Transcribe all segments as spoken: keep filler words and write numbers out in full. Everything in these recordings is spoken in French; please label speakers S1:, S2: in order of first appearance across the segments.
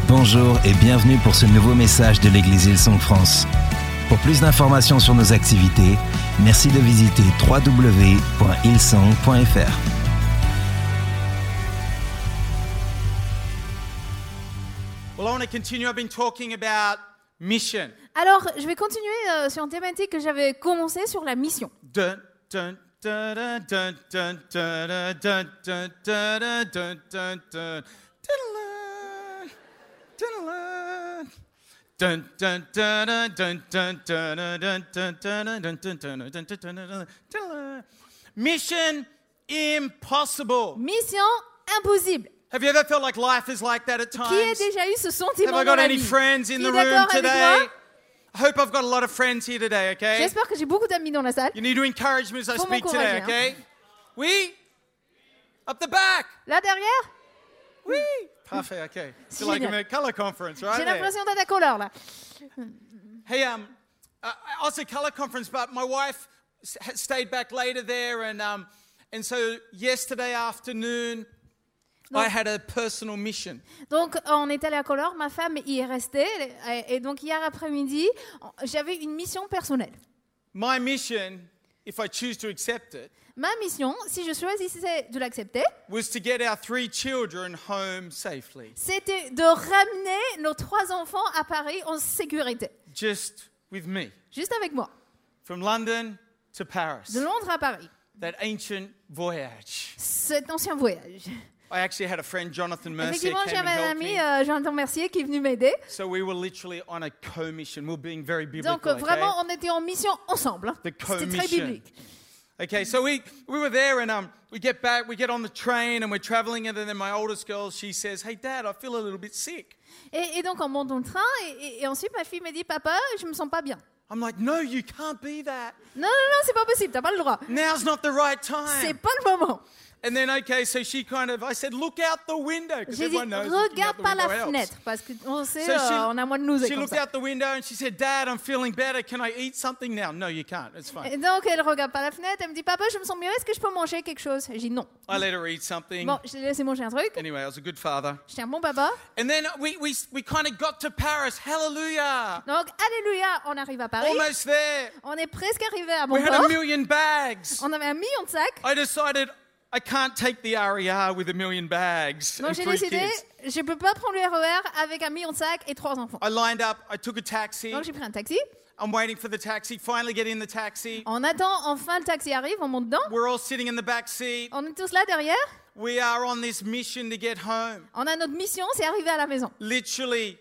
S1: Bonjour et bienvenue pour ce nouveau message de l'église Hillsong France. Pour plus d'informations sur nos activités, merci de visiter w w w point hillsong point f r.
S2: Well, I want to continue. I've been talking about mission.
S3: Alors, je vais continuer euh, sur une thématique que j'avais commencé sur la mission.
S2: Dun, dun, dun, dun, dun, dun, dun, dun, dun, dun, dun, dun, dun. Dun, dun, dun, dun, dun, dun, dun, dun, dun, dun, dun, dun, dun, dun, dun. Mission impossible.
S3: Mission impossible.
S2: Have you ever felt like life is like that at times?
S3: Qui a déjà eu ce
S2: Have
S3: sentiment
S2: I
S3: dans
S2: got
S3: la
S2: any
S3: vie?
S2: friends in
S3: Qui
S2: the
S3: est
S2: room
S3: d'accord avec
S2: today?
S3: moi?
S2: I hope I've got a lot of friends here today, okay?
S3: J'espère que j'ai beaucoup d'amis dans la salle.
S2: You need to encourage me as I
S3: Faut
S2: speak today,
S3: m'encourager,
S2: okay? Oui? Up the back?
S3: Là derrière,
S2: Oui? Parfait, okay. It's like I'm
S3: Génial.
S2: at a color conference, right?
S3: j'ai
S2: there.
S3: l'impression d'être à couleur là.
S2: Hey, um, uh, I was at color conference, but my wife s- had stayed back later there, and um, and so yesterday afternoon,
S3: Non.
S2: I had a personal mission.
S3: Donc on est allé à couleur, ma femme y est restée et, et donc hier après-midi, j'avais une mission personnelle.
S2: My mission, if I choose to accept it,
S3: Ma mission, si je choisissais de l'accepter,
S2: was to get our three children home safely,
S3: c'était de ramener nos trois enfants à Paris en sécurité,
S2: just with me,
S3: juste avec moi,
S2: from London to Paris.
S3: de Londres à Paris.
S2: That ancient voyage.
S3: Cet ancien voyage.
S2: I actually had a friend, Jonathan Mercier,
S3: Effectivement,
S2: came and
S3: j'avais un
S2: helped
S3: ami,
S2: me.
S3: euh, Jonathan Mercier, qui est venu m'aider.
S2: So we were literally on a co-mission. We were being very biblical,
S3: Donc, euh, vraiment,
S2: okay?
S3: on était en mission ensemble. hein.
S2: The
S3: C'était très
S2: co-mission.
S3: biblique.
S2: Okay, so we, we were there and um, we get back, we get on the train and we're traveling and then my oldest girl, she says, hey Dad, I feel a little bit sick.
S3: Et, et donc, on monte dans le train. Et, et- et ensuite, ma fille me dit, papa, je me sens pas bien.
S2: I'm like, no, you can't be that.
S3: Non, non, non, c'est pas possible. T'as pas le droit.
S2: Now's not the right
S3: C'est
S2: time.
S3: pas le moment.
S2: And then, okay, so she kind of, I said, look out the window. Because
S3: J'ai dit,
S2: everyone knows looking out
S3: regarde
S2: the
S3: par
S2: window
S3: la
S2: helps.
S3: fenêtre. Parce qu'on sait,
S2: So she-
S3: euh, on a moins de nous et
S2: She
S3: comme
S2: looked
S3: ça.
S2: out the window and she said, Dad, I'm feeling better. Can I eat something now? No, you can't. It's fine.
S3: Et donc, elle regarde par la fenêtre. Elle me dit, papa, je me sens mieux. Est-ce que je peux manger quelque chose? J'ai dit non.
S2: I let her eat something.
S3: Bon, je l'ai laissé manger un truc.
S2: Anyway, I was a good father.
S3: J'étais un bon papa.
S2: And then we, we, we kind of got to Paris. Hallelujah.
S3: Donc, alléluia, on arrive à Paris.
S2: Almost there.
S3: On est presque arrivé à
S2: We
S3: bon
S2: had a
S3: port.
S2: million bags.
S3: On avait un million de sacs.
S2: I decided I can't take the R E R with a million bags
S3: Donc
S2: and
S3: j'ai
S2: three
S3: décidé,
S2: kids.
S3: je peux pas prendre le R E R avec un million de sacs et trois enfants.
S2: I lined up. I took a taxi.
S3: Donc j'ai pris un taxi.
S2: I'm waiting for the taxi. Finally get in the taxi.
S3: On attend, enfin le taxi arrive, on monte dedans.
S2: We're all sitting in the back seat.
S3: On est tous là derrière.
S2: We are on this mission to get home.
S3: On a notre mission, c'est arriver à la maison.
S2: Literally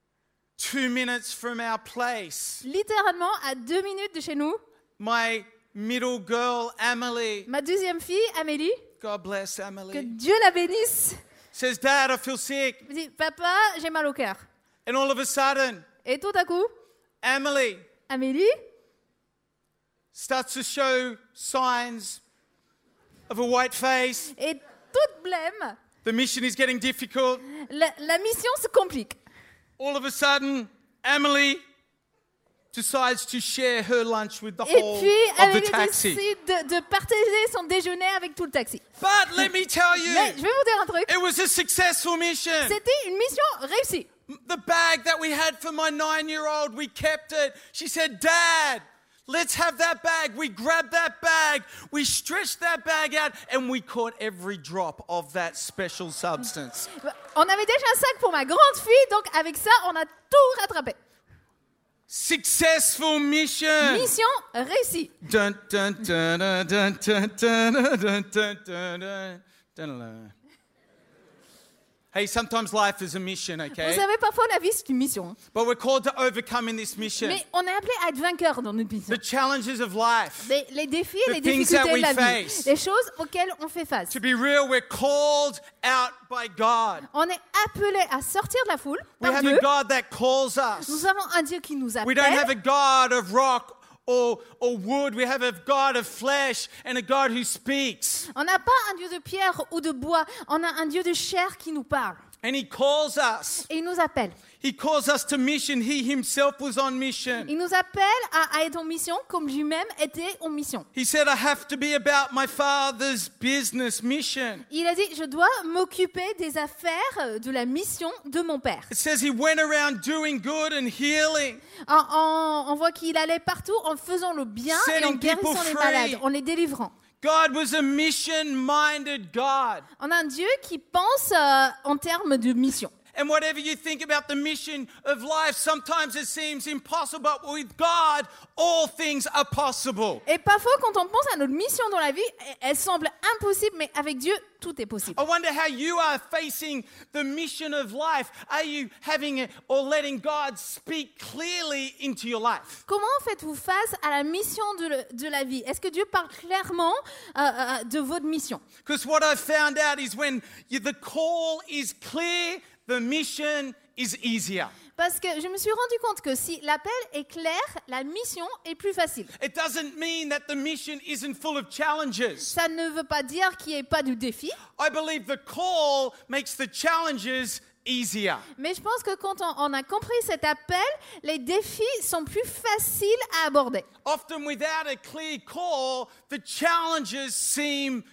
S2: two minutes from our place.
S3: Littéralement à deux minutes de chez nous,
S2: My middle girl, Emily,
S3: ma deuxième fille, Amélie,
S2: God bless
S3: que
S2: Emily,
S3: Dieu la bénisse,
S2: says, Dad, I feel sick.
S3: me dit, papa, j'ai mal au cœur.
S2: And all of a sudden,
S3: Et tout à coup,
S2: Emily
S3: Amélie
S2: starts to show signs of a white face.
S3: est toute blême.
S2: The mission is getting difficult.
S3: La, la mission se complique.
S2: All of a sudden, Emily decides to share her lunch with the
S3: Et
S2: whole
S3: puis,
S2: of the
S3: Amélie
S2: taxi.
S3: décide de, de partager son déjeuner avec tout le taxi.
S2: But let me tell
S3: Mais je
S2: you,
S3: vais vous dire un truc.
S2: it was a successful mission.
S3: C'était une mission réussie.
S2: The bag that we had for my nine-year-old, we kept it. She said, Dad, let's have that bag. We grabbed that bag, we stretched that bag out, and we caught every drop of that special substance.
S3: On avait déjà un sac pour ma grande fille, donc avec ça, on a tout rattrapé.
S2: Successful mission.
S3: Mission réussie.
S2: Dun, dun, dun, dun, dun, dun, dun, dun, dun, dun, dun, dun, dun. Hey, sometimes life is a mission,
S3: Vous
S2: okay?
S3: savez, parfois la vie c'est une mission.
S2: But we're called to overcome in this mission.
S3: Mais on est appelé à être vainqueur dans notre mission.
S2: The challenges of life.
S3: Les, les défis et
S2: The
S3: les
S2: things
S3: difficultés
S2: that
S3: de
S2: we
S3: la vie.
S2: face.
S3: Les choses auxquelles on fait face.
S2: To be real, we're called out by God.
S3: On est appelé à sortir de la foule
S2: We
S3: par
S2: have
S3: Dieu.
S2: a God that calls us.
S3: Nous avons un Dieu qui nous
S2: We don't have a
S3: appelle.
S2: God of rock or, or wood. We have a God of flesh and a God who speaks.
S3: On n'a pas un Dieu de pierre ou de bois. On a un Dieu de chair qui nous parle.
S2: And he calls us.
S3: Et il nous appelle.
S2: He calls us to mission. He himself was on mission.
S3: Il nous appelle à, à être en mission comme lui-même était en mission.
S2: He said, I have to be about my Father's business mission.
S3: Il a dit, je dois m'occuper des affaires de la mission de mon Père.
S2: It says he went around doing good and healing.
S3: En, en, on voit qu'il allait partout en faisant le bien et en
S2: Setting people
S3: guérissant les
S2: free.
S3: malades, en les délivrant.
S2: God was a mission-minded God.
S3: On a un Dieu qui pense euh, en termes de mission.
S2: And whatever you think about the mission of life, sometimes it seems impossible, but with God, all things are possible.
S3: Et parfois, quand on pense à notre mission dans la vie, elle semble impossible, mais avec Dieu, tout est possible.
S2: I wonder how you are facing the mission of life. Are you having it or letting God speak clearly into your life?
S3: Comment faites-vous face à la mission de, le- de la vie? Est-ce que Dieu parle clairement euh, euh, de votre mission?
S2: Because what I've found out is when you, the call is clear, the mission is easier.
S3: Parce que je me suis rendu compte que si l'appel est clair, la mission est plus facile.
S2: It doesn't mean that the mission isn't full of challenges.
S3: Ça ne veut pas dire qu'il n'y ait pas de défi,
S2: I believe the call makes the challenges easier.
S3: mais je pense que quand on, on a compris cet appel, les défis sont plus faciles à aborder.
S2: Often without a clear call, the challenges seem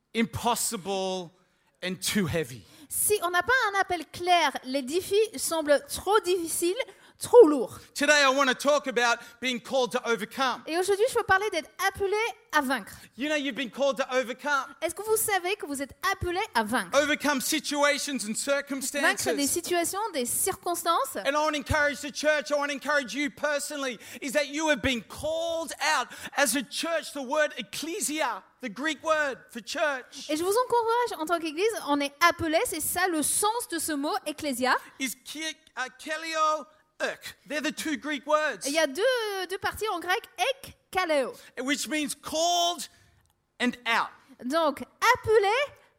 S2: impossible and too heavy.
S3: Si on n'a pas un appel clair, les défis semblent trop difficiles, trop lourds.
S2: Today I want to talk about being called to overcome.
S3: Et aujourd'hui, je veux parler d'être appelé à vaincre.
S2: You know you've been called to overcome.
S3: Est-ce que vous savez que vous êtes appelé à vaincre?
S2: Overcome situations and
S3: Vaincre des
S2: circumstances.
S3: situations, des circonstances.
S2: And I want to encourage the church, I want to encourage you personally, is that you have been called out as a church. The word ecclesia, the Greek word for church,
S3: Et je vous encourage, en tant qu'Église, on est appelé, c'est ça le sens de ce mot, ecclésia.
S2: is ki- uh, kelio uk. They're the two Greek words,
S3: Et il y a deux, deux parties en grec, ek, kaleo.
S2: which means called and out.
S3: Donc, appelé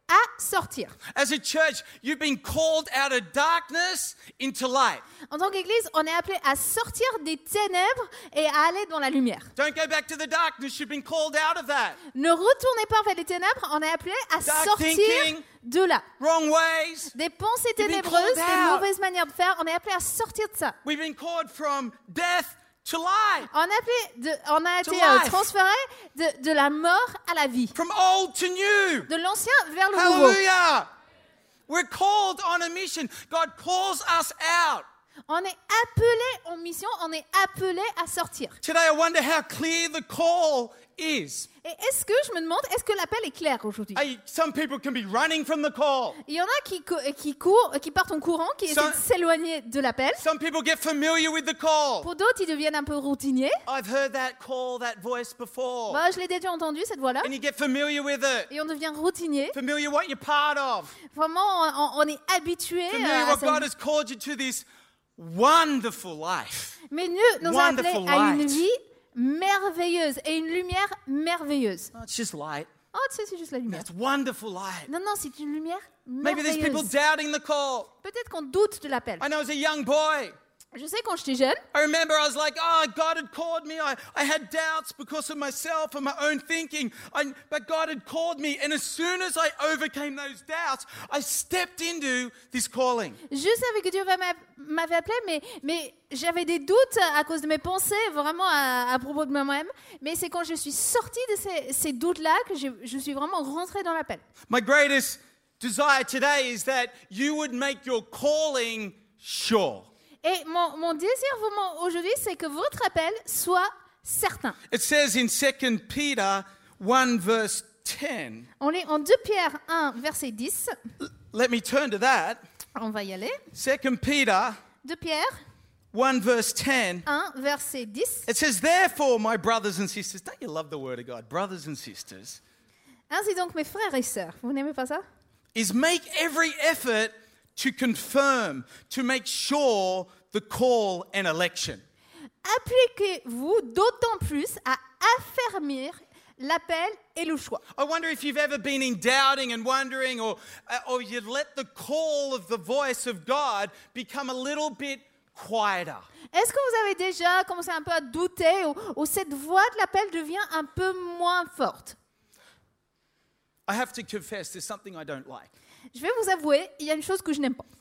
S3: à sortir.
S2: As a church, you've been called out of darkness into light.
S3: En tant qu'Église, on est appelé à sortir des ténèbres et à aller dans la lumière.
S2: Don't go back to the darkness. You've been called out of that.
S3: Ne retournez pas vers les ténèbres, on est appelé à
S2: Dark
S3: sortir
S2: thinking.
S3: de là.
S2: Wrong ways.
S3: Des pensées
S2: You've been
S3: ténébreuses,
S2: called
S3: des
S2: out.
S3: mauvaises manières de faire, on est appelé à sortir de ça.
S2: We've been called from death to life,
S3: On, est appelé de, on a
S2: To
S3: été euh,
S2: life.
S3: transféré de, de la mort à la vie,
S2: from old to new.
S3: de l'ancien vers le nouveau.
S2: Hallelujah. We're called on a mission. God calls us out.
S3: On est appelé en mission, on est appelé à sortir.
S2: Today, I wonder how clear the call is.
S3: Et est-ce que, je me demande, est-ce que l'appel est clair aujourd'hui?
S2: Hey, some people can be running from the call.
S3: Il y en a qui, cou- qui courent, qui partent en courant, qui essaient
S2: Ça-
S3: de s'éloigner de l'appel.
S2: Some people get familiar with the call.
S3: Pour d'autres, ils deviennent un peu routiniers.
S2: I've heard that call, that voice before.
S3: Bah, je l'ai déjà entendu, cette voix-là.
S2: And you get familiar with it.
S3: Et on devient routinier.
S2: Familiar what you're part of.
S3: Vraiment, on, on est habitué
S2: Familiar
S3: à
S2: what
S3: ça.
S2: God has called you to this wonderful life.
S3: Mais Dieu nous a appelés
S2: Wonderful
S3: à une
S2: light.
S3: vie merveilleuse et une lumière merveilleuse.
S2: Oh, it's just light.
S3: Oh, tu sais, c'est juste la lumière.
S2: It's wonderful light.
S3: Non, non, c'est une lumière
S2: Maybe there's people
S3: merveilleuse.
S2: doubting the call.
S3: Peut-être qu'on doute de l'appel.
S2: I know as a young boy,
S3: Je sais, quand j'étais jeune,
S2: I remember I was like, oh, God had called me. I, I had doubts because of myself and my own thinking. I, but God had called me. And as soon as I overcame those doubts, I stepped into this calling.
S3: je savais que Dieu m'a- m'avait appelé, mais, mais j'avais des doutes à cause de mes pensées, vraiment à, à propos de moi-même. Mais c'est quand je suis sortie de ces, ces doutes-là que je, je suis vraiment rentrée dans l'appel.
S2: My greatest desire today is that you would make your calling sure.
S3: Et mon, mon désir vraiment aujourd'hui, c'est que votre appel soit certain.
S2: It says in Second Peter one verse ten.
S3: On est en deux Pierre un, verset dix.
S2: Let me turn to that.
S3: On va y aller.
S2: Second Peter
S3: deux Pierre
S2: one verse ten.
S3: un, verset dix.
S2: It says, therefore, my brothers and sisters, don't you love the word of God? Brothers and sisters,
S3: Ainsi donc, mes frères et sœurs, vous n'aimez pas ça?
S2: is make every effort to confirm, to make sure the call and election.
S3: Appliquez-vous d'autant plus à affermir l'appel et le choix.
S2: I wonder if you've ever been in doubting and wondering, or, uh, or you've let the call of the voice of God become a little bit quieter.
S3: Est-ce que vous avez déjà commencé un peu à douter ou, ou cette voix de l'appel devient un peu moins forte?
S2: I have to confess, there's something I don't like.
S3: Je vais vous avouer, il y a une chose que je n'aime pas.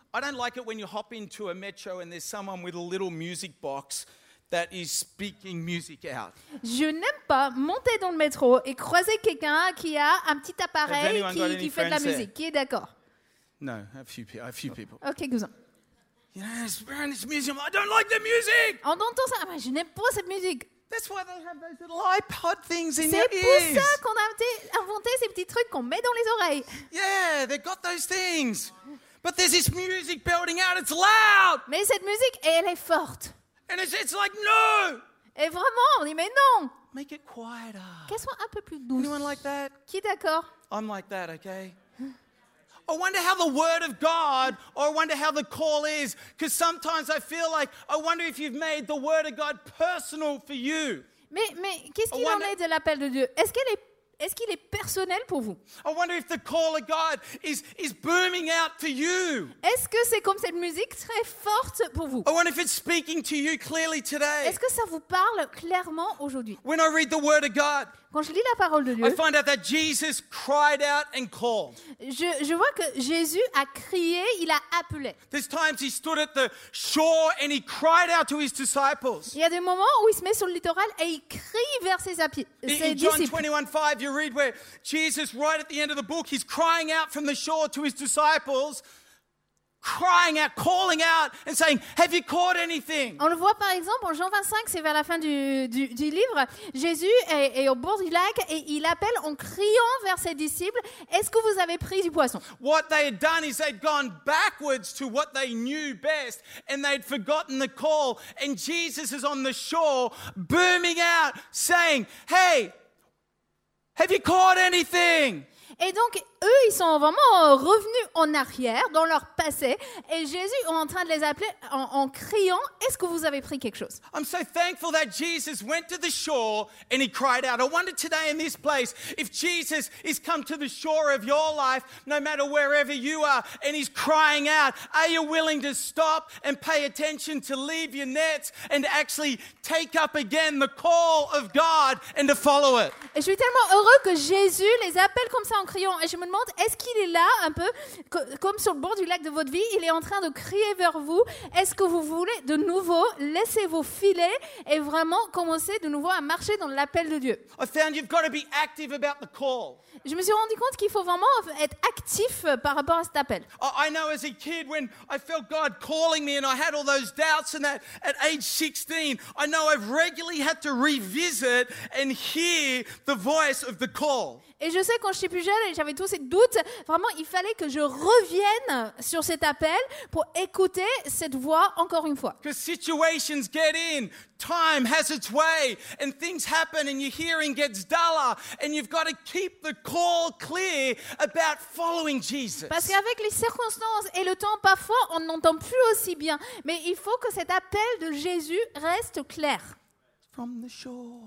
S2: I don't like it when you hop into a metro and there's someone with a little music box that is speaking music out.
S3: Je n'aime pas monter dans le métro et croiser quelqu'un qui a un petit
S2: Has
S3: appareil
S2: anyone got
S3: qui,
S2: any
S3: qui fait de la
S2: friends there?
S3: musique. Qui est d'accord?
S2: No, a few, pe- a few people.
S3: Ok, quelques-uns.
S2: You know, it's around this museum. I don't like the music.
S3: On entend ça. Ah, mais je n'aime pas cette musique.
S2: That's why they have those little iPod things in
S3: C'est
S2: their
S3: pour
S2: ears.
S3: ça qu'on a inventé, inventé ces petits trucs qu'on met dans les oreilles.
S2: Yeah, they've got those things. But there's this music belting out. It's loud.
S3: Mais cette musique, elle est forte.
S2: And it's, it's like, no.
S3: Et vraiment, on dit mais non.
S2: Make it quieter.
S3: Qu'elle soit un peu plus douce.
S2: Anyone like that?
S3: Qui est d'accord?
S2: I'm like that, okay? I wonder how the word of God, or I wonder how the call is, because sometimes I feel like, I wonder if you've made the word of God personal for you.
S3: Mais, mais qu'est-ce qu'il
S2: I
S3: en
S2: wonder-
S3: est de l'appel de Dieu? Est-ce qu'elle est, est-ce qu'il est personnel pour vous?
S2: I wonder if the call of God is, is booming out to you.
S3: Est-ce que c'est comme cette musique très forte pour vous?
S2: I wonder if it's speaking to you clearly today.
S3: Est-ce que ça vous parle clairement aujourd'hui?
S2: When I read the word of God,
S3: Quand je lis la parole de
S2: I
S3: Dieu,
S2: find out that Jesus cried out and called.
S3: je, je vois que Jésus a crié, il a appelé.
S2: There's times he stood at the shore and he cried out to his disciples.
S3: Il y a des moments où il se met sur le littoral et il crie vers ses, api-
S2: In,
S3: ses
S2: in John
S3: disciples.
S2: twenty-one five, you read where Jesus, right at the end of the book, he's crying out from the shore to his disciples, crying out, calling out, and saying, have you caught anything?
S3: On le voit par exemple en Jean vingt-cinq, c'est vers la fin du, du, du livre. Jésus est, est au bord du lac et il appelle en criant vers ses disciples, est-ce que vous avez pris du poisson?
S2: What they had done is they'd gone backwards to what they knew best, and they'd forgotten the call. And Jesus is on the shore, booming out, saying, hey, have you caught anything?
S3: Et donc, eux, ils sont vraiment revenus en arrière, dans leur passé, et Jésus est en train de les appeler en, en criant, est-ce que vous avez pris quelque chose?
S2: I'm so thankful that Jesus went to the shore and he cried out. I wonder today in this place, if Jesus is come to the shore of your life, no matter wherever you are, and he's crying out, are you willing to stop and pay attention, to leave your nets and actually take up again the call of God and to follow it?
S3: Et je suis tellement heureux que Jésus les appelle comme ça en criant. Et je me demande, est-ce qu'il est là un peu, co- comme sur le bord du lac de votre vie, il est en train de crier vers vous. Est-ce que vous voulez de nouveau laisser vos filets et vraiment commencer de nouveau à marcher dans l'appel de Dieu?
S2: I found you've got to be active about the call.
S3: Je me suis rendu compte qu'il faut vraiment être actif par rapport à cet appel.
S2: I I know as a kid when I felt God calling me and I had all those doubts and that at age sixteen, I know I've regularly had to revisit and hear the voice of the call.
S3: Et je sais, quand j'étais plus jeune et j'avais tous ces doutes, vraiment, il fallait que je revienne sur cet appel pour écouter cette voix encore une fois.
S2: Because situations get in, time has its way, and things happen and your hearing gets duller, and you've got to keep the call clear about following Jesus.
S3: Parce qu'avec les circonstances et le temps, parfois, on n'entend plus aussi bien. Mais il faut que cet appel de Jésus reste clair.
S2: From the shore,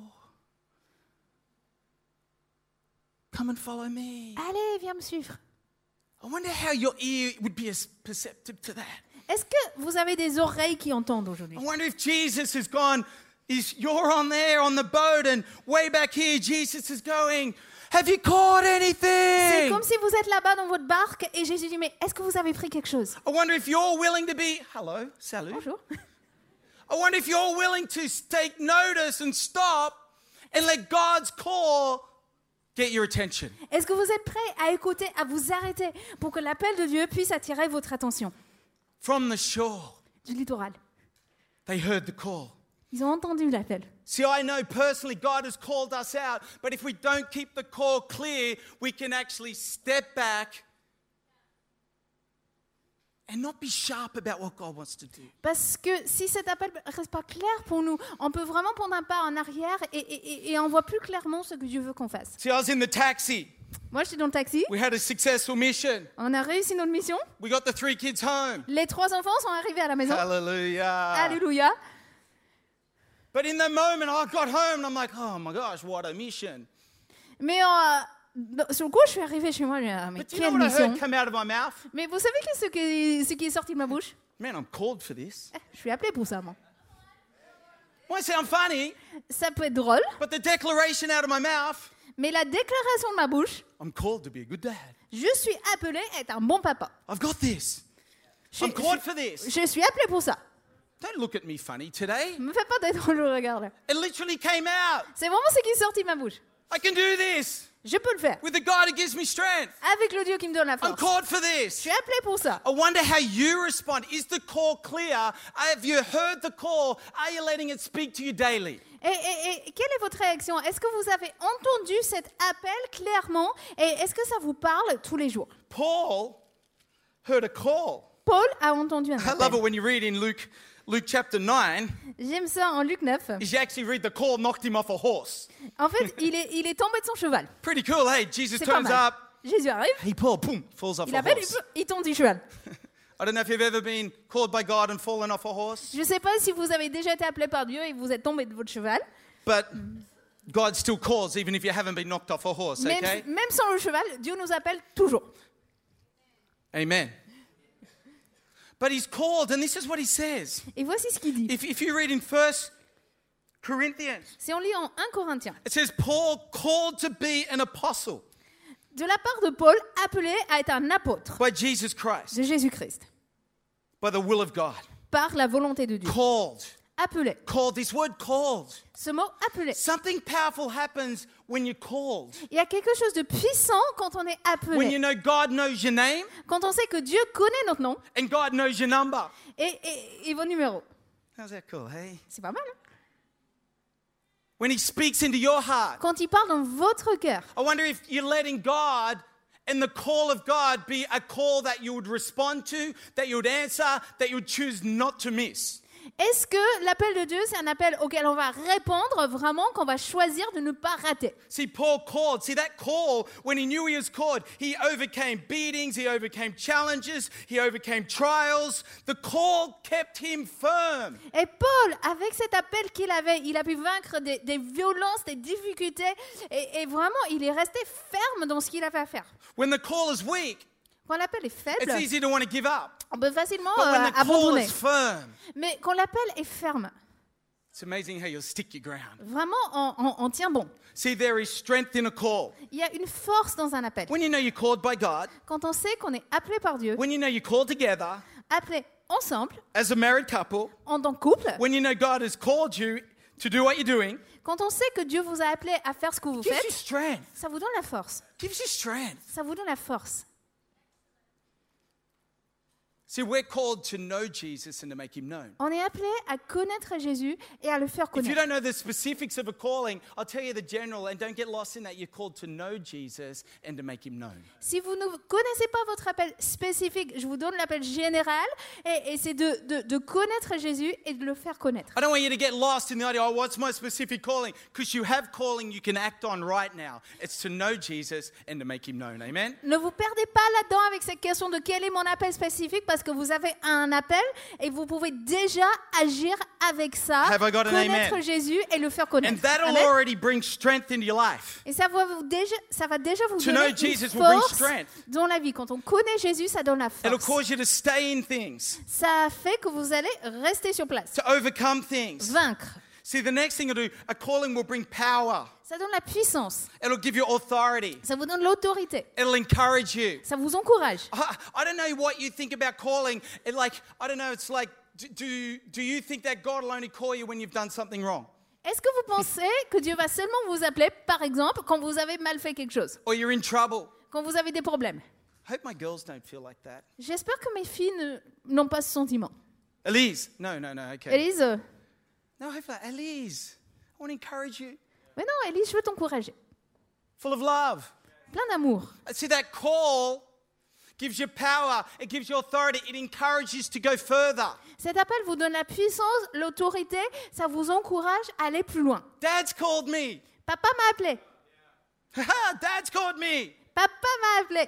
S2: come and follow me.
S3: Allez, viens me suivre.
S2: I wonder how your ear would be as perceptive to that.
S3: Est-ce que vous avez des oreilles qui entendent aujourd'hui?
S2: I wonder if Jesus has gone, is you're on there on the boat, and way back here Jesus is going, have you caught
S3: C'est
S2: anything?
S3: comme si vous êtes là-bas dans votre barque et Jésus dit, mais est-ce que vous avez pris quelque chose?
S2: I wonder if you're willing to be, hello, salut.
S3: Bonjour.
S2: I wonder if you're willing to take notice and stop and let God's call get your attention.
S3: Est-ce que vous êtes prêts à écouter, à vous arrêter pour que l'appel de Dieu puisse attirer votre attention?
S2: From the shore,
S3: Du littoral.
S2: they heard the call.
S3: Ils ont entendu l'appel.
S2: See, I know personally God has called us out, but if we don't keep the call clear, we can actually step back and not be sharp about what God wants to do.
S3: Parce que si cet appel ne reste pas clair pour nous, on peut vraiment prendre un pas en arrière et, et, et on voit plus clairement ce que Dieu veut qu'on fasse.
S2: See, I was in the taxi.
S3: Moi, j'étais dans le taxi.
S2: We had a successful mission.
S3: On a réussi notre mission.
S2: We got the three kids home.
S3: Les trois enfants sont arrivés à la maison.
S2: Hallelujah.
S3: Alléluia.
S2: But in the moment, I got home and I'm like, oh my gosh, what a mission.
S3: Mais euh, sur le coup, je suis arrivée chez moi. Je me suis dit, ah, mais
S2: But do you know
S3: quelle
S2: what I
S3: mission.
S2: heard come out of my mouth?
S3: Mais vous savez que ce, qui, ce qui est sorti de ma bouche?
S2: Man, I'm called for this.
S3: Eh, Je suis appelée pour ça, moi.
S2: Might sound funny,
S3: Ça peut être drôle,
S2: but the declaration out of my mouth,
S3: mais la déclaration de ma bouche,
S2: I'm called to be a good dad.
S3: je suis appelée à être un bon papa.
S2: I've got this.
S3: Je,
S2: I'm called
S3: je-
S2: for this.
S3: je suis appelé pour ça.
S2: Don't look at me funny today.
S3: Ne me fais pas d'être dans le regard là.
S2: It literally came out.
S3: C'est vraiment ce qui est sorti de ma bouche.
S2: I can do this
S3: Je peux le faire.
S2: with the God who gives me strength.
S3: Avec le Dieu qui me donne la
S2: I'm
S3: force.
S2: called for
S3: Je
S2: this.
S3: suis appelé pour ça.
S2: I wonder how you respond. Is the call clear? Have you heard the call? Are you letting it speak to you daily?
S3: Et, et- et quelle est votre réaction? Est-ce que vous avez entendu cet appel clairement? Et est-ce que ça vous parle tous les jours?
S2: Paul heard a call.
S3: Paul a entendu un
S2: I love it
S3: appel.
S2: when you read in Luke, Luke chapter nine,
S3: J'aime ça en Luc neuf.
S2: is you actually read the call knocked him off a horse.
S3: En fait, il est, il est tombé de son cheval.
S2: Pretty cool, hey? Jesus
S3: C'est pas
S2: turns
S3: mal.
S2: up.
S3: Jésus arrive,
S2: Hey, Paul, boom, falls off
S3: il
S2: a
S3: appelle,
S2: horse.
S3: il tombe du cheval.
S2: I don't know if you've ever been called by God and fallen off a horse,
S3: Je ne sais pas si vous avez déjà été appelé par Dieu et vous êtes tombé de votre cheval.
S2: but God still calls even if you haven't been knocked off a horse,
S3: Même,
S2: okay?
S3: même sans le cheval, Dieu nous appelle toujours.
S2: Amen. But he's called, and this is what he says.
S3: Et voici ce qu'il dit.
S2: If, if you read in First Corinthians,
S3: Si on lit en un Corinthiens,
S2: it says Paul called to be an apostle
S3: de la part de Paul, appelé à être un apôtre
S2: by Jesus Christ,
S3: de Jésus-Christ,
S2: by the will of God.
S3: par la volonté de Dieu.
S2: Called.
S3: Appelé.
S2: Called. This word called.
S3: Ce mot appelé.
S2: Something powerful happens when you're called.
S3: Il y a quelque chose de puissant quand on est
S2: When you
S3: appelé.
S2: know God knows your name
S3: Quand on sait que Dieu connaît notre nom
S2: and God knows your number.
S3: et, et, et vos numéros.
S2: How's that cool, hey?
S3: C'est pas mal, hein?
S2: When he speaks into your heart.
S3: Quand il parle dans votre cœur.
S2: I wonder if you're letting God and the call of God be a call that you would respond to, that you would answer, that you would choose not to miss.
S3: Est-ce que l'appel de Dieu, c'est un appel auquel on va répondre vraiment, qu'on va choisir de ne pas rater?
S2: See, Paul called. See, that call, when he knew he was called, he overcame beatings, he overcame challenges, he overcame trials. The call kept him firm.
S3: Et Paul, avec cet appel qu'il avait, il a pu vaincre des, des violences, des difficultés, et, et vraiment, il est resté ferme dans ce qu'il avait à faire.
S2: When the call is weak,
S3: Quand l'appel est faible,
S2: it's easy to want to give up.
S3: on peut facilement
S2: But when
S3: euh,
S2: the call
S3: abandonner.
S2: is firm,
S3: Mais quand l'appel est ferme,
S2: it's amazing how you'll stick your ground.
S3: vraiment, on, on- on tient bon.
S2: See, there is strength in a call.
S3: Il y a une force dans un appel.
S2: When you know you're called by God,
S3: Quand on sait qu'on est appelé par Dieu,
S2: when you know you're called together
S3: appelé ensemble,
S2: as a married couple,
S3: en tant que couple,
S2: when you know God has called you to do what you're doing,
S3: quand on sait que Dieu vous a appelé à faire ce que vous
S2: gives you
S3: faites,
S2: strength.
S3: ça vous donne la force.
S2: Gives you strength.
S3: Ça vous donne la force.
S2: See, we're called to know Jesus and to make him known.
S3: On est appelé à connaître Jésus et à le faire
S2: If you
S3: connaître.
S2: don't know the specifics of a calling, I'll tell you the general, and don't get lost in that. You're called to know Jesus and to make him known.
S3: Si vous ne connaissez pas votre appel spécifique, je vous donne l'appel général, et, et c'est de, de, de connaître Jésus et de le faire connaître.
S2: I don't want you to get lost in the idea, oh, what's my specific calling? Because you have calling you can act on right now. It's to know Jesus and to make him known. Amen?
S3: Ne vous perdez pas là-dedans avec cette question de quel est mon appel spécifique, parce que vous avez un appel et vous pouvez déjà agir avec ça,
S2: Have I got an
S3: connaître
S2: amen?
S3: Jésus et le faire
S2: And
S3: connaître.
S2: that'll
S3: Amen.
S2: already bring strength into your life.
S3: Et ça va, vous déjà, ça va déjà vous
S2: To know
S3: donner
S2: Jesus
S3: une
S2: will bring
S3: force
S2: strength.
S3: dans la vie. Quand on connaît Jésus, ça donne la
S2: It'll
S3: force.
S2: cause you to stay in things,
S3: Ça fait que vous allez rester sur place,
S2: to overcome things.
S3: vaincre.
S2: See, the next thing it'll do, a calling will bring power.
S3: Ça donne la puissance,
S2: It'll give you authority.
S3: ça vous donne l'autorité,
S2: It'll encourage you.
S3: ça vous encourage.
S2: I, I don't know what you think about calling. It like, I don't know, it's like, do, do, do you think that God will only call you when you've done something wrong?
S3: Est-ce que vous pensez que Dieu va seulement vous appeler, par exemple, quand vous avez mal fait quelque chose,
S2: Or you're in trouble?
S3: quand vous avez des problèmes?
S2: I hope my girls don't feel like that.
S3: J'espère que mes filles ne- n'ont pas ce sentiment.
S2: Elise? No, no, no, okay.
S3: Élise, euh,
S2: No, hopefully, Elise, I want to encourage you.
S3: mais non, Élise, je veux t'encourager.
S2: Full of love.
S3: Plein d'amour.
S2: See, that call gives you power. It gives you authority. It encourages to go further.
S3: Cet appel vous donne la puissance, l'autorité, ça vous encourage à aller plus loin.
S2: Dad's called me.
S3: Papa m'a appelé.
S2: Haha, Dad's called me.
S3: Papa m'a appelé.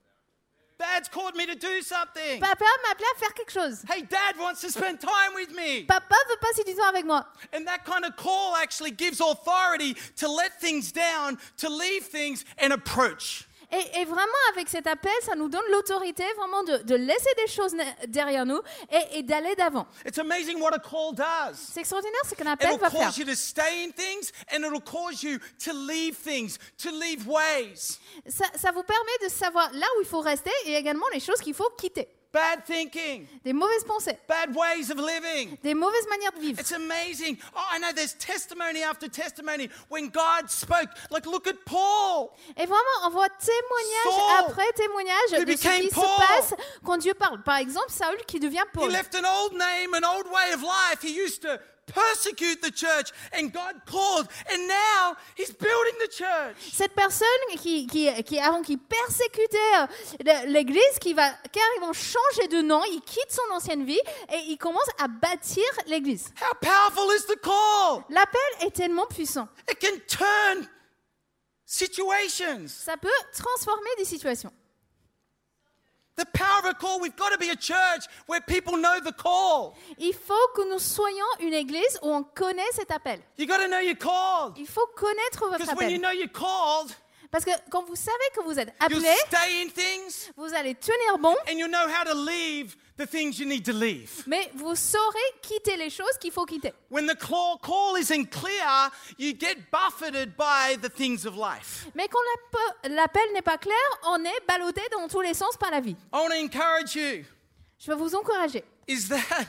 S2: Dad's called me to do something.
S3: Papa m'a appelé à faire quelque chose.
S2: Hey, Dad wants to spend time with me.
S3: Papa veut passer du temps avec moi.
S2: And that kind of call actually gives authority to let things down, to leave things and approach.
S3: Et, et vraiment, avec cet appel, ça nous donne l'autorité vraiment de, de laisser des choses ne- derrière nous et, et d'aller d'avant.
S2: It's amazing what a call does.
S3: C'est extraordinaire ce qu'un appel
S2: It'll
S3: va faire.
S2: cause you to stay in things and it'll cause you to leave things, to leave ways.
S3: Ça, ça vous permet de savoir là où il faut rester et également les choses qu'il faut quitter.
S2: bad thinking,
S3: des mauvaises pensées,
S2: bad ways of living.
S3: des mauvaises manières de vivre.
S2: It's amazing. Oh, I know there's testimony after testimony when God spoke. Like, look at Paul.
S3: Et vraiment, on voit témoignage
S2: Saul,
S3: après témoignage
S2: who
S3: de ce
S2: became
S3: qui
S2: Paul.
S3: se passe quand Dieu parle. Par exemple, Saül qui devient
S2: He
S3: Paul.
S2: left an old name, an old way of life. He used to persecute the church, and God called, and now he's building the church.
S3: Cette personne qui, qui, qui avant qui persécutait euh, l'Église, qui va carrément changer de nom, il quitte son ancienne vie et il commence à bâtir l'Église.
S2: How powerful is the call?
S3: L'appel est tellement puissant.
S2: It can turn situations.
S3: Ça peut transformer des situations.
S2: The power of a call, we've got to be a church where people know the call.
S3: Il faut que nous soyons une église où on connaît cet appel.
S2: You got to know you're called.
S3: Il faut connaître votre
S2: Because when you
S3: appel.
S2: know you're called,
S3: Parce que quand vous savez que vous êtes
S2: you'll
S3: appelé,
S2: stay in things
S3: vous allez tenir bon,
S2: and you'll know how to leave the things you need to leave.
S3: mais vous saurez quitter les choses qu'il faut quitter.
S2: When the call, call isn't clear, you get buffeted by the things of life.
S3: Mais quand l'appe- l'appel n'est pas clair, on est ballotté dans tous les sens par la vie.
S2: I want to encourage you.
S3: Je vais vous encourager.
S2: Is that,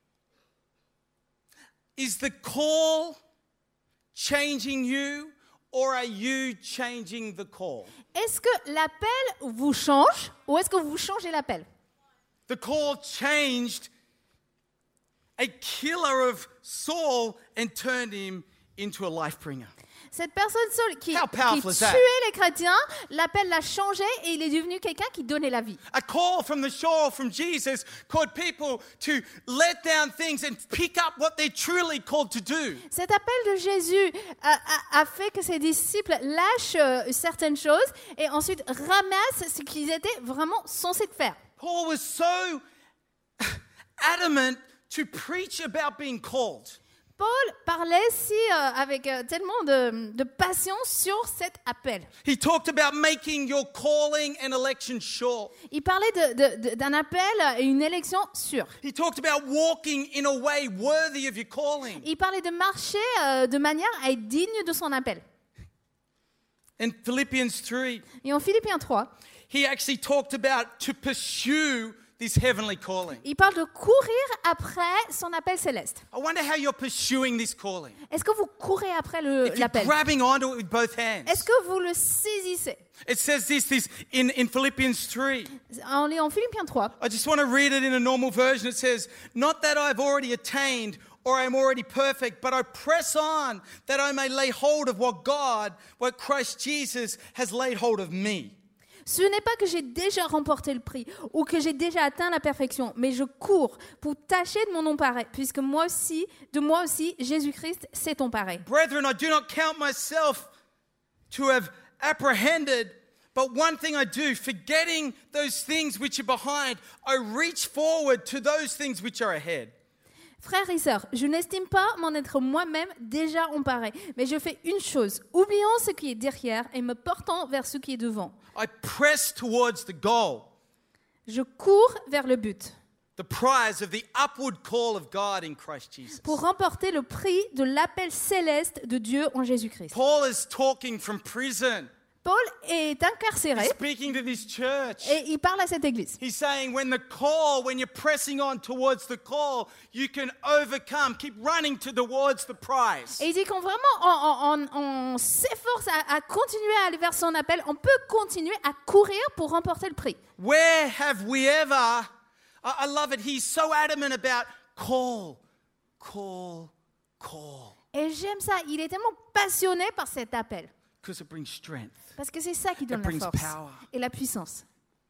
S2: is the call changing you or are you changing the call?
S3: Est-ce que l'appel vous change ou est-ce que vous changez l'appel?
S2: The call changed a killer of Saul and turned him into a life bringer.
S3: Cette personne seule qui,
S2: How
S3: qui
S2: powerful is that?
S3: tuait les chrétiens, l'appel l'a changé et il est devenu quelqu'un qui donnait la vie.
S2: A call from the shore from Jesus called people to let down things and pick up what they're truly called to do.
S3: Cet appel de Jésus a, a- a fait que ses disciples lâchent euh, certaines choses et ensuite ramassent ce qu'ils étaient vraiment censés faire.
S2: Paul was so adamant to preach about being called.
S3: Paul parlait si, euh, avec euh, tellement de, de passion sur cet appel.
S2: He talked about making your calling and election sure.
S3: Il parlait de- de- de- d'un appel et une élection sûre.
S2: He talked about walking in a way worthy of your calling.
S3: Il parlait de marcher euh, de manière à être digne de son appel.
S2: In Philippians three,
S3: Et en Philippiens trois,
S2: he actually talked about to pursue this heavenly calling.
S3: il parle de courir après son appel céleste.
S2: I wonder how you're pursuing this calling.
S3: Est-ce que vous courez après le-
S2: If you're
S3: l'appel?
S2: grabbing onto it with both hands.
S3: Est-ce que vous le saisissez?
S2: It says this, this in, in Philippians three.
S3: On lit en Philippiens trois.
S2: I just want to read it in a normal version. It says, not that I've already attained or I'm already perfect, but I press on that I may lay hold of what God, what Christ Jesus has laid hold of me.
S3: Ce n'est pas que j'ai déjà remporté le prix ou que j'ai déjà atteint la perfection, mais je cours pour tâcher de m'en emparer, puisque moi aussi, de moi aussi, Jésus-Christ s'est emparé.
S2: Brethren, I do not count myself to have apprehended, but one thing I do, forgetting those things which are behind, I reach forward to those things which are ahead.
S3: Frères et sœurs, je n'estime pas m'en être moi-même déjà emparé, mais je fais une chose, oubliant ce qui est derrière et me portant vers ce qui est devant.
S2: I press towards the goal,
S3: Je cours vers le but
S2: the prize of the upward call of God in Christ Jesus.
S3: pour remporter le prix de l'appel céleste de Dieu en Jésus-Christ.
S2: Paul is talking from prison.
S3: Paul est incarcéré
S2: He's speaking to this church.
S3: et il parle à cette église.
S2: He's saying when the call, when you're pressing on towards the call, you can overcome. Keep running towards the prize.
S3: Et il dit qu'on vraiment on, on- on s'efforce à, à continuer à aller vers son appel, on peut continuer à courir pour remporter le prix.
S2: Where have we ever, I, I love it, he's so adamant about call, call, call.
S3: Et j'aime ça, il est tellement passionné par cet appel.
S2: Because it brings strength.
S3: Parce que c'est ça qui donne
S2: It brings
S3: la force
S2: power.
S3: et la puissance.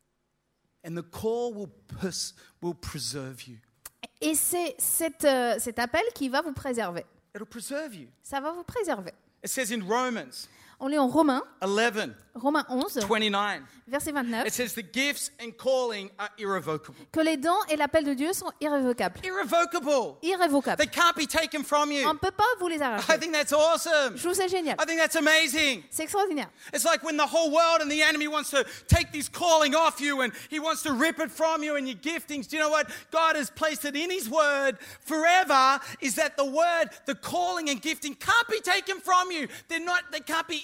S2: And the call will, pers- will preserve you.
S3: Et c'est cet, euh, cet appel qui va vous préserver.
S2: It'll preserve you.
S3: Ça va vous préserver.
S2: It says in Romans
S3: On lit en Romains,
S2: eleven,
S3: Romains onze,
S2: twenty-nine,
S3: verset vingt-neuf,
S2: it says the gifts and calling are irrevocable.
S3: que les dons et l'appel de Dieu sont irrévocables.
S2: Irrevocable.
S3: Irrévocables.
S2: They can't be taken from you.
S3: On ne peut pas vous les
S2: I
S3: arracher.
S2: think that's awesome.
S3: Je trouve ça génial.
S2: I think that's amazing.
S3: C'est extraordinaire.
S2: It's like when the whole world and the enemy wants to take this calling off you and he wants to rip it from you and your giftings. Do you know what? God has placed it in his word forever, is that the word, the calling and gifting can't be taken from you. They're not, they can't be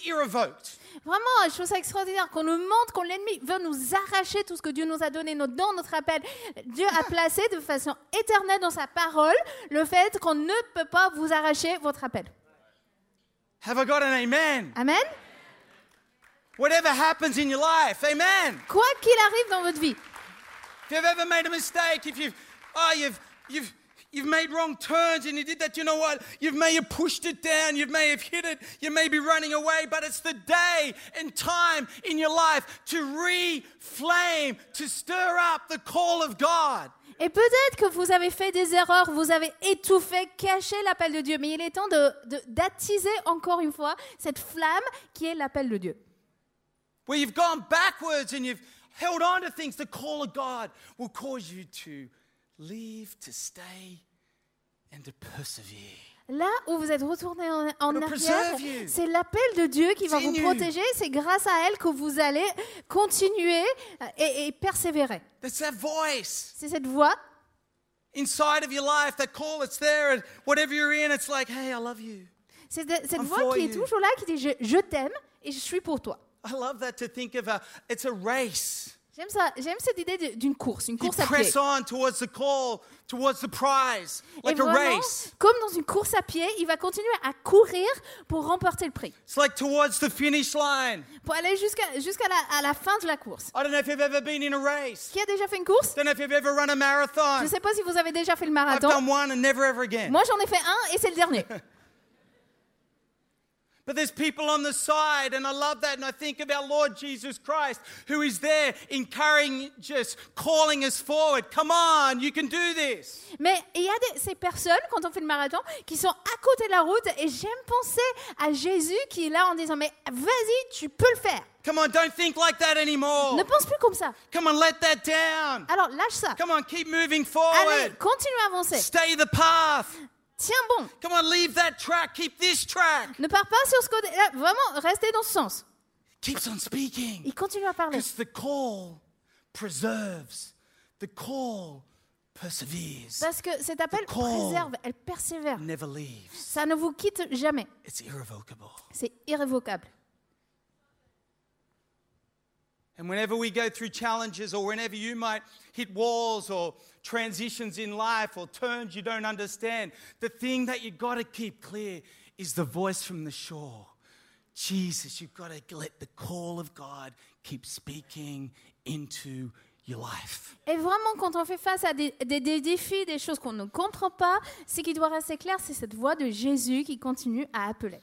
S2: irrevoked.
S3: Vraiment, je trouve ça extraordinaire qu'on nous montre qu'on l'ennemi veut nous arracher tout ce que Dieu nous a donné, nos dons, notre appel. Dieu a placé de façon éternelle dans sa parole le fait qu'on ne peut pas vous arracher votre appel.
S2: Have I got an amen?
S3: Amen.
S2: Whatever happens in your life, amen.
S3: Quoi qu'il arrive dans votre vie,
S2: If you've ever made a mistake, if you've, oh, you've, you've, you've made wrong turns and you did that, you know what? You may have pushed it down, you may have hit it, you may be running away, but it's the day and time in your life to reflame, to stir up the call of God.
S3: et peut-être que vous avez fait des erreurs, vous avez étouffé, caché l'appel de Dieu, mais il est temps de, de, d'attiser encore une fois cette flamme qui est l'appel de Dieu.
S2: Where you've gone backwards and you've held on to things, the call of God will cause you to leave, to stay, and to persevere.
S3: Là où vous êtes retourné en, en
S2: It'll
S3: arrière,
S2: preserve you.
S3: c'est l'appel de Dieu qui va vous
S2: Continue.
S3: protéger. C'est grâce à elle que vous allez continuer et, et persévérer.
S2: That's that voice
S3: C'est cette voix
S2: inside of your life, that call that's there, and whatever you're in, it's like, hey, I love you.
S3: C'est de- cette
S2: I'm
S3: voix
S2: for
S3: qui est
S2: you.
S3: toujours là, qui dit je, je t'aime et je suis pour toi.
S2: I love that to think of a, it's a race.
S3: J'aime ça, j'aime cette idée de- d'une course, une
S2: You
S3: course à pied.
S2: press on towards the call, towards the prize,
S3: Et
S2: like a
S3: vraiment,
S2: race.
S3: comme dans une course à pied, il va continuer à courir pour remporter le prix,
S2: It's like towards the finish line.
S3: pour aller jusqu'à jusqu'à la, à la fin de la course.
S2: I don't know if you've ever been in a race.
S3: Qui a déjà fait une course?
S2: Don't know if you've ever run a
S3: Je
S2: marathon.
S3: ne sais pas si vous avez déjà fait le
S2: I've
S3: marathon.
S2: done one and never ever again.
S3: Moi, j'en ai fait un et c'est le dernier.
S2: But there's people on the side, and I love that, and I think of our Lord Jesus Christ, who is there encouraging us, calling us forward. Come on, you can do this.
S3: Mais il y a des, ces personnes, quand on fait le marathon, qui sont à côté de la route et j'aime penser à Jésus qui est là en disant mais vas-y, tu peux le faire.
S2: Come on, don't think like that anymore.
S3: Ne pense plus comme ça.
S2: Come on, let that down.
S3: Alors lâche ça.
S2: Come on, keep moving
S3: Allez,
S2: forward.
S3: continue à avancer.
S2: Stay the path.
S3: Tiens bon.
S2: Come on, leave that track. Keep this track.
S3: Ne pars pas sur ce côté. Là, vraiment, restez dans ce sens.
S2: Keeps on speaking.
S3: Il continue à parler.
S2: Because the call preserves. The call perseveres.
S3: Parce que cet appel
S2: The call.
S3: préserve, elle persévère.
S2: Never leaves.
S3: Ça ne vous quitte jamais.
S2: It's irrevocable.
S3: C'est irrévocable.
S2: And whenever we go through challenges, or whenever you might hit walls or transitions in life or turns you don't understand, the thing that you've got to keep clear is the voice from the shore. Jesus, you've got to let the call of God keep speaking into your life.
S3: Et vraiment, quand on fait face à des, des- des défis, des choses qu'on ne comprend pas, ce qui doit rester clair, c'est cette voix de Jésus qui continue à appeler.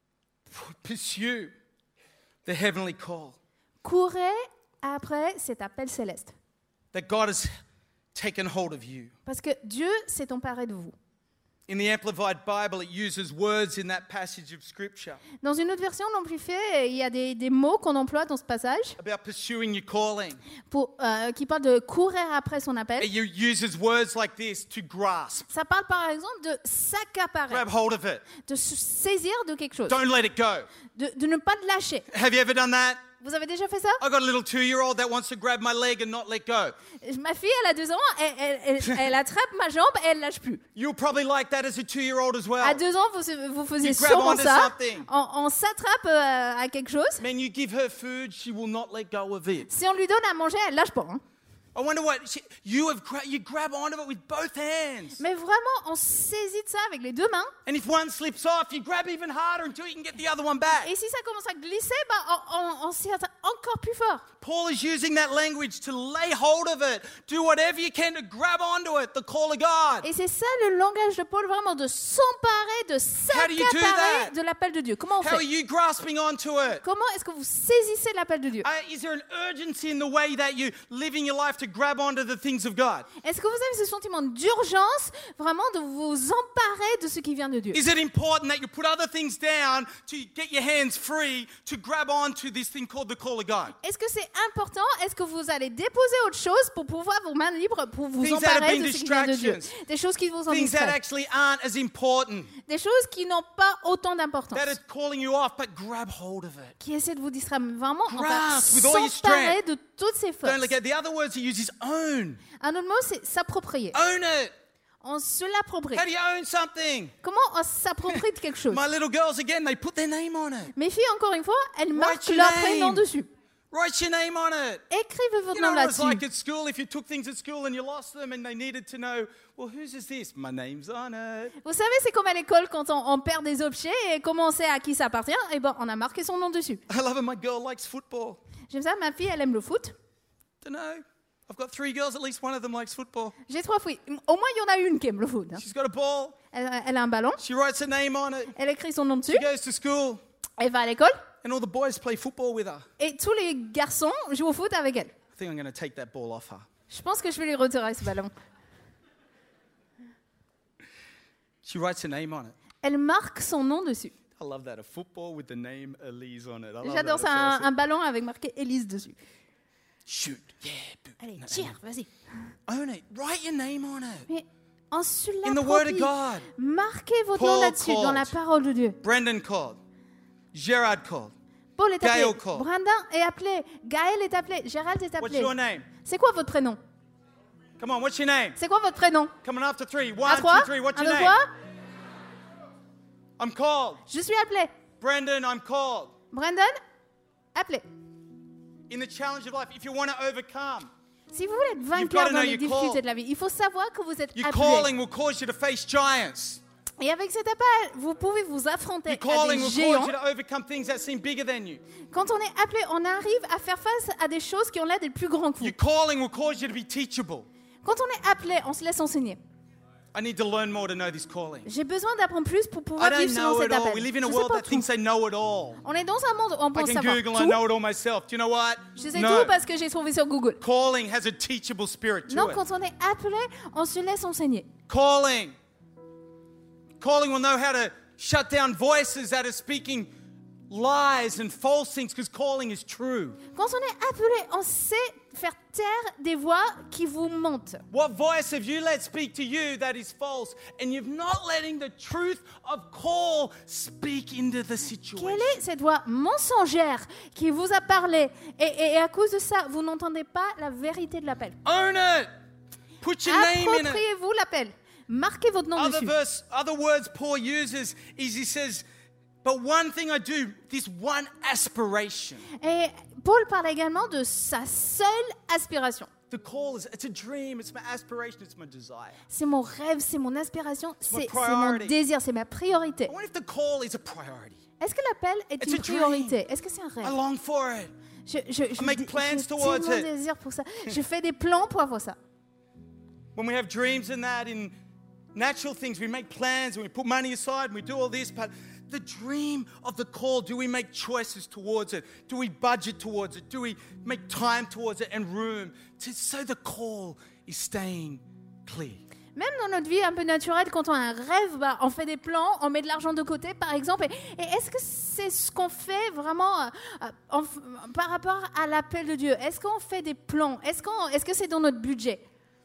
S2: Pursue the heavenly call
S3: Courez après cet appel céleste.
S2: that God has taken hold of you.
S3: Parce que Dieu s'est emparé de vous.
S2: In the Amplified Bible, it uses words in that passage of Scripture
S3: Dans une autre version, l'amplifié, il y a des, des mots qu'on emploie dans ce passage
S2: about pursuing your calling.
S3: pour, euh, qui parlent de courir après son appel.
S2: It uses words like this: to grasp,
S3: Ça parle par exemple de s'accaparer,
S2: grab hold of it,
S3: de se saisir de quelque chose,
S2: don't let it go.
S3: de, de ne pas le lâcher.
S2: Have you ever done that?
S3: Vous avez déjà fait ça?
S2: I got a little two-year-old that wants to grab my leg and not let go.
S3: Ma fille, elle a deux ans, elle, elle- elle- elle attrape ma jambe et elle lâche plus.
S2: You're probably like that as a two-year-old as
S3: À
S2: well.
S3: deux ans, vous, vous faisiez
S2: You grab
S3: sûrement
S2: onto
S3: ça.
S2: something.
S3: On, on s'attrape euh, à quelque chose.
S2: Man, you give her food, she will not let go of it.
S3: Si on lui donne à manger, elle lâche pas. hein.
S2: I wonder what she, you have. Gra- you grab onto it with both hands,
S3: Mais vraiment, on saisit de ça avec les deux mains.
S2: and if one slips off, you grab even harder until you can get the other one back.
S3: Et si ça commence à glisser, bah, on, on, on s'y atteint encore plus fort.
S2: Paul is using that language to lay hold of it, do whatever you can to grab onto it, the call of God.
S3: Et c'est ça le langage de Paul, vraiment, de s'emparer, de
S2: How do you do
S3: s'accaparer
S2: that?
S3: de l'appel de Dieu. Comment on
S2: How are
S3: fait?
S2: you grasping onto it?
S3: Comment est-ce que vous saisissez l'appel de Dieu?
S2: Uh, is there an urgency in the way that you living your life to grab onto the things of God?
S3: Est-ce que vous avez ce sentiment d'urgence, vraiment, de vous emparer de ce qui vient de Dieu?
S2: Is it important that you put other things down to get your hands free to grab onto this thing called the call of God?
S3: Est-ce que c'est important? Est-ce que vous allez déposer autre chose pour pouvoir vos mains libres pour vous
S2: Things that have
S3: emparer
S2: been
S3: de ce qui vient de Dieu?
S2: distractions.
S3: Des choses qui vous en
S2: Things that
S3: distraient.
S2: actually aren't as important,
S3: Des choses qui n'ont pas autant d'importance.
S2: that is calling you off, but grab hold of it.
S3: Qui essaient de vous distraire. Mais vraiment, on va
S2: Grasp with all your
S3: s'emparer
S2: strength.
S3: de toutes ces forces.
S2: Don't look at the other words he uses: own,
S3: Un autre mot, c'est s'approprier.
S2: own it.
S3: On se l'approprie.
S2: How do you own something?
S3: Comment on s'approprie de quelque chose?
S2: My little girls, again, they put their name on it.
S3: Mes filles, encore une fois, elles marquent
S2: your
S3: leur
S2: name.
S3: prénom dessus.
S2: Write your name on it.
S3: Écrivez votre
S2: You
S3: nom
S2: know what it's
S3: là-dessus.
S2: like at school if you took things at school and you lost them and they needed to know, well, whose is this? My name's on it.
S3: Vous savez, c'est comme à l'école quand on, on perd des objets et comment on sait à qui ça appartient. Et ben, on a marqué son nom dessus.
S2: I love it. My girl likes football.
S3: J'aime ça, ma fille, elle aime le foot.
S2: Don't know. I've got three girls, at least one of them likes football.
S3: J'ai trois filles. Au moins, il y en a une qui aime le foot. hein.
S2: She's got a ball.
S3: Elle, elle a un ballon.
S2: She writes her name on it.
S3: Elle écrit son nom dessus.
S2: She goes to school.
S3: Elle va à l'école.
S2: And all the boys play football with her.
S3: Et tous les garçons jouent au foot avec elle.
S2: I think I'm going to take that ball off her.
S3: Je pense que je vais lui retirer ce ballon.
S2: She writes her name on it.
S3: Elle marque son nom dessus.
S2: I love that. A football with the name Elise on it. I love
S3: J'adore
S2: that.
S3: ça,
S2: It's
S3: un,
S2: awesome.
S3: un ballon avec marqué Élise dessus.
S2: Shoot. Yeah. boot.
S3: Allez,
S2: No,
S3: tire, vas-y.
S2: Own it. Write your name on it.
S3: Mais en se
S2: In the Word of
S3: l'approprie,
S2: God.
S3: marquez votre
S2: Paul
S3: nom là-dessus,
S2: called.
S3: dans la parole de Dieu.
S2: Brendan called. Gerard called.
S3: Paul est appelé,
S2: Gaël called.
S3: Brandin est appelé, Gaël est appelé, Gérald est
S2: What's
S3: appelé.
S2: your name?
S3: C'est quoi votre prénom?
S2: Come on, what's your name?
S3: C'est quoi votre prénom?
S2: Coming after three.
S3: À
S2: One,
S3: trois,
S2: two, three. What's
S3: un,
S2: your
S3: deux,
S2: name?
S3: trois.
S2: I'm called.
S3: Je suis appelé.
S2: Brendan, I'm called.
S3: Brandon, appelé.
S2: In the challenge of life, if you want to overcome,
S3: Si vous voulez être
S2: You've
S3: vainqueur
S2: gotta
S3: dans
S2: know
S3: les
S2: your
S3: difficultés
S2: call.
S3: de la vie, il faut savoir que vous êtes
S2: your
S3: appelé.
S2: calling will cause you to face giants.
S3: Et avec cet appel, vous pouvez vous affronter
S2: Your
S3: à
S2: calling
S3: des
S2: will
S3: géants.
S2: cause you to overcome things that seem bigger than you.
S3: Quand on est appelé, on arrive à faire face à des choses qui ont l'air d'être plus grands que vous.
S2: Your calling will cause you to be teachable.
S3: Quand on est appelé, on se laisse enseigner.
S2: I need to learn more to know this calling.
S3: J'ai besoin d'apprendre plus pour
S2: I
S3: pouvoir
S2: don't
S3: vivre selon
S2: know
S3: cet
S2: it all.
S3: appel.
S2: We live in a
S3: Je sais
S2: world
S3: pas
S2: that thinks
S3: tout.
S2: they know it all.
S3: On est dans un monde où on
S2: I
S3: pense
S2: can
S3: savoir
S2: Google, I
S3: tout.
S2: know it all myself. Do you know what?
S3: Je sais
S2: No.
S3: tout parce que j'ai trouvé sur Google.
S2: Calling has a teachable spirit to
S3: Non,
S2: it.
S3: quand on est appelé, on se laisse enseigner.
S2: Calling. Calling will know how to shut down voices that are speaking lies and false things because calling is true.
S3: Quand on est appelé, on sait faire taire des voix qui vous mentent.
S2: What voice have you let speak to you that is false and you're not letting the truth of call speak into the situation?
S3: Quelle est cette voix mensongère qui vous a parlé et, et- et à cause de ça, vous n'entendez pas la vérité de l'appel.
S2: Own it. Put your name in it.
S3: Appropriez-vous l'appel. Marquez votre nom
S2: Other
S3: dessus.
S2: verse, other words Paul uses is he says, but one thing I do, this one aspiration.
S3: Et Paul parle également de sa seule aspiration.
S2: The call is, it's a dream, it's my aspiration, it's my desire.
S3: C'est mon rêve, c'est mon aspiration,
S2: my
S3: c'est c'est
S2: priority.
S3: mon désir, c'est ma priorité.
S2: I wonder if the call is a priority.
S3: Est-ce que l'appel est
S2: It's
S3: une
S2: a dream.
S3: priorité? Est-ce que c'est un
S2: I
S3: rêve?
S2: long for it.
S3: Je, je, je,
S2: make
S3: dé-
S2: plans
S3: j'ai
S2: towards
S3: tellement
S2: it.
S3: désir pour ça. Je fais des plans pour avoir ça.
S2: When we have dreams and that in natural things, we make plans and we put money aside and we do all this, but the dream of the call, do we make choices towards it? Do we budget towards it? Do we make time towards it and room to, so the call is staying clear?
S3: Même dans notre vie un peu naturelle, quand on a un rêve, bah, on fait des plans, on met de l'argent de côté, par exemple. Et, et est-ce que c'est ce qu'on fait vraiment euh, euh, en f- par rapport à l'appel de Dieu? Est-ce qu'on fait des plans? Est-ce, qu'on, est-ce que c'est dans notre budget?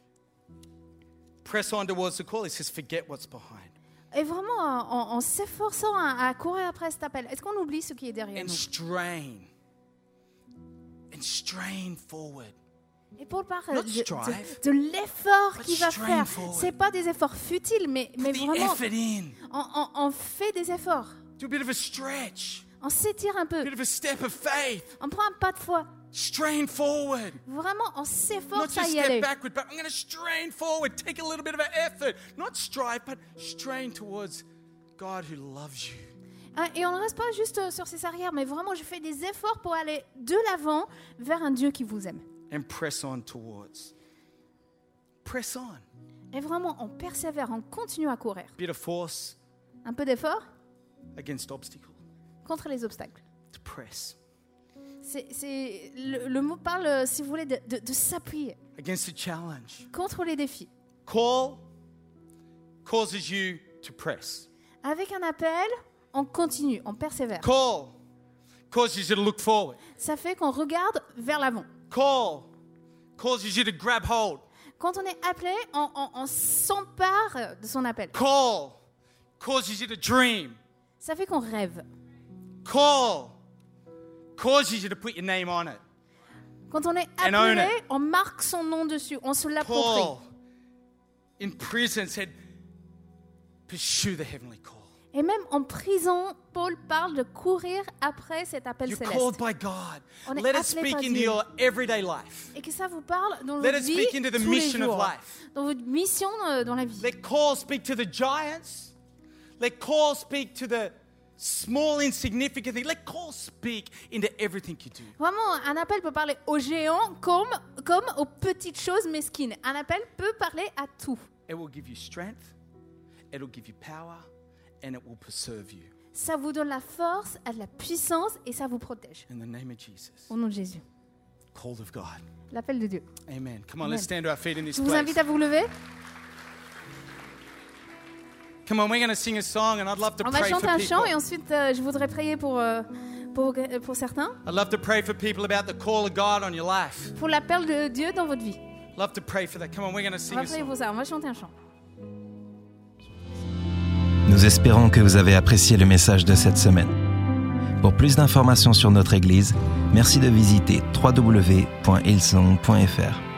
S2: Press on towards the call. He says, forget what's behind.
S3: Et vraiment, en, en s'efforçant à, à courir après cet appel, est-ce qu'on oublie ce qui est derrière
S2: And
S3: nous?
S2: strain. And strain forward.
S3: Et Paul parle
S2: Not
S3: de,
S2: strive,
S3: de, de l'effort
S2: but
S3: qu'il va
S2: strain
S3: faire.
S2: forward.
S3: C'est pas des efforts futiles, mais, mais
S2: Put the
S3: vraiment,
S2: effort in.
S3: on, on- on fait des efforts.
S2: Do a bit of a stretch.
S3: On s'étire un
S2: A
S3: peu.
S2: bit of a step of faith.
S3: On prend un pas de foi.
S2: Strain forward.
S3: Vraiment, on
S2: Not
S3: s'efforce à
S2: just
S3: y
S2: step
S3: aller.
S2: backward, but I'm going to strain forward. Take a little bit of an effort. Not strive, but strain towards God who loves you.
S3: Hein, Et on ne reste pas juste euh, sur ses arrières, mais vraiment, je fais des efforts pour aller de l'avant vers un Dieu qui vous aime.
S2: And press on towards. Press on.
S3: Et vraiment, on persévère, on continue à courir.
S2: Bit of force
S3: Un peu d'effort
S2: against obstacle.
S3: contre les obstacles.
S2: To press.
S3: C'est, c'est- le, le mot parle, euh, si vous voulez, de, de- de s'appuyer
S2: Against the challenge.
S3: contre les défis.
S2: Call causes you to press.
S3: Avec un appel, on continue, on persévère.
S2: Call causes you to look forward.
S3: Ça fait qu'on regarde vers l'avant.
S2: Call causes you to grab hold.
S3: Quand on est appelé, on, on- on s'empare de son appel.
S2: Call causes you to dream.
S3: Ça fait qu'on rêve.
S2: Call causes you to put your name on it.
S3: Quand on est
S2: And own
S3: appelé,
S2: it.
S3: on marque son nom dessus, on se l'approprie.
S2: Call in prison said, pursue the heavenly call.
S3: Et même en prison, Paul parle de courir après cet appel
S2: You're
S3: céleste.
S2: called by God.
S3: On est
S2: Let it
S3: appelé
S2: speak
S3: par
S2: into
S3: Dieu.
S2: your everyday life.
S3: Et que ça vous parle dans
S2: Let
S3: votre
S2: it
S3: vie
S2: speak into the
S3: tous les
S2: mission of
S3: jours,
S2: life.
S3: dans votre mission euh, dans la vie.
S2: Let call speak to the giants. Let call speak to the small, insignificant things. Let call speak into everything you do.
S3: Vraiment, un appel peut parler aux géants comme, comme aux petites choses mesquines. Un appel peut parler à tout.
S2: It will give you strength. It will give you power. And it will preserve you.
S3: Ça vous donne la force, de la puissance et ça vous protège.
S2: In the name of Jesus.
S3: Au nom de Jésus.
S2: Call of God.
S3: L'appel de Dieu.
S2: Amen. Come on,
S3: Amen.
S2: let's stand to our feet in this
S3: Je vous
S2: place.
S3: invite à vous lever.
S2: Come on, we're going to sing a song and I'd love to
S3: On va
S2: pray for
S3: chanter un chant et
S2: people.
S3: ensuite euh, je voudrais prier pour, euh, pour, euh, pour certains.
S2: I'd love to pray for people about the call of God on your life.
S3: Pour l'appel de Dieu dans votre vie.
S2: Love to pray for that. Come on, we're going to
S3: On
S2: sing
S3: va
S2: a
S3: prier
S2: song.
S3: pour ça. On va chanter un chant.
S1: Nous espérons que vous avez apprécié le message de cette semaine. Pour plus d'informations sur notre Église, merci de visiter w w w point hillsong point f r.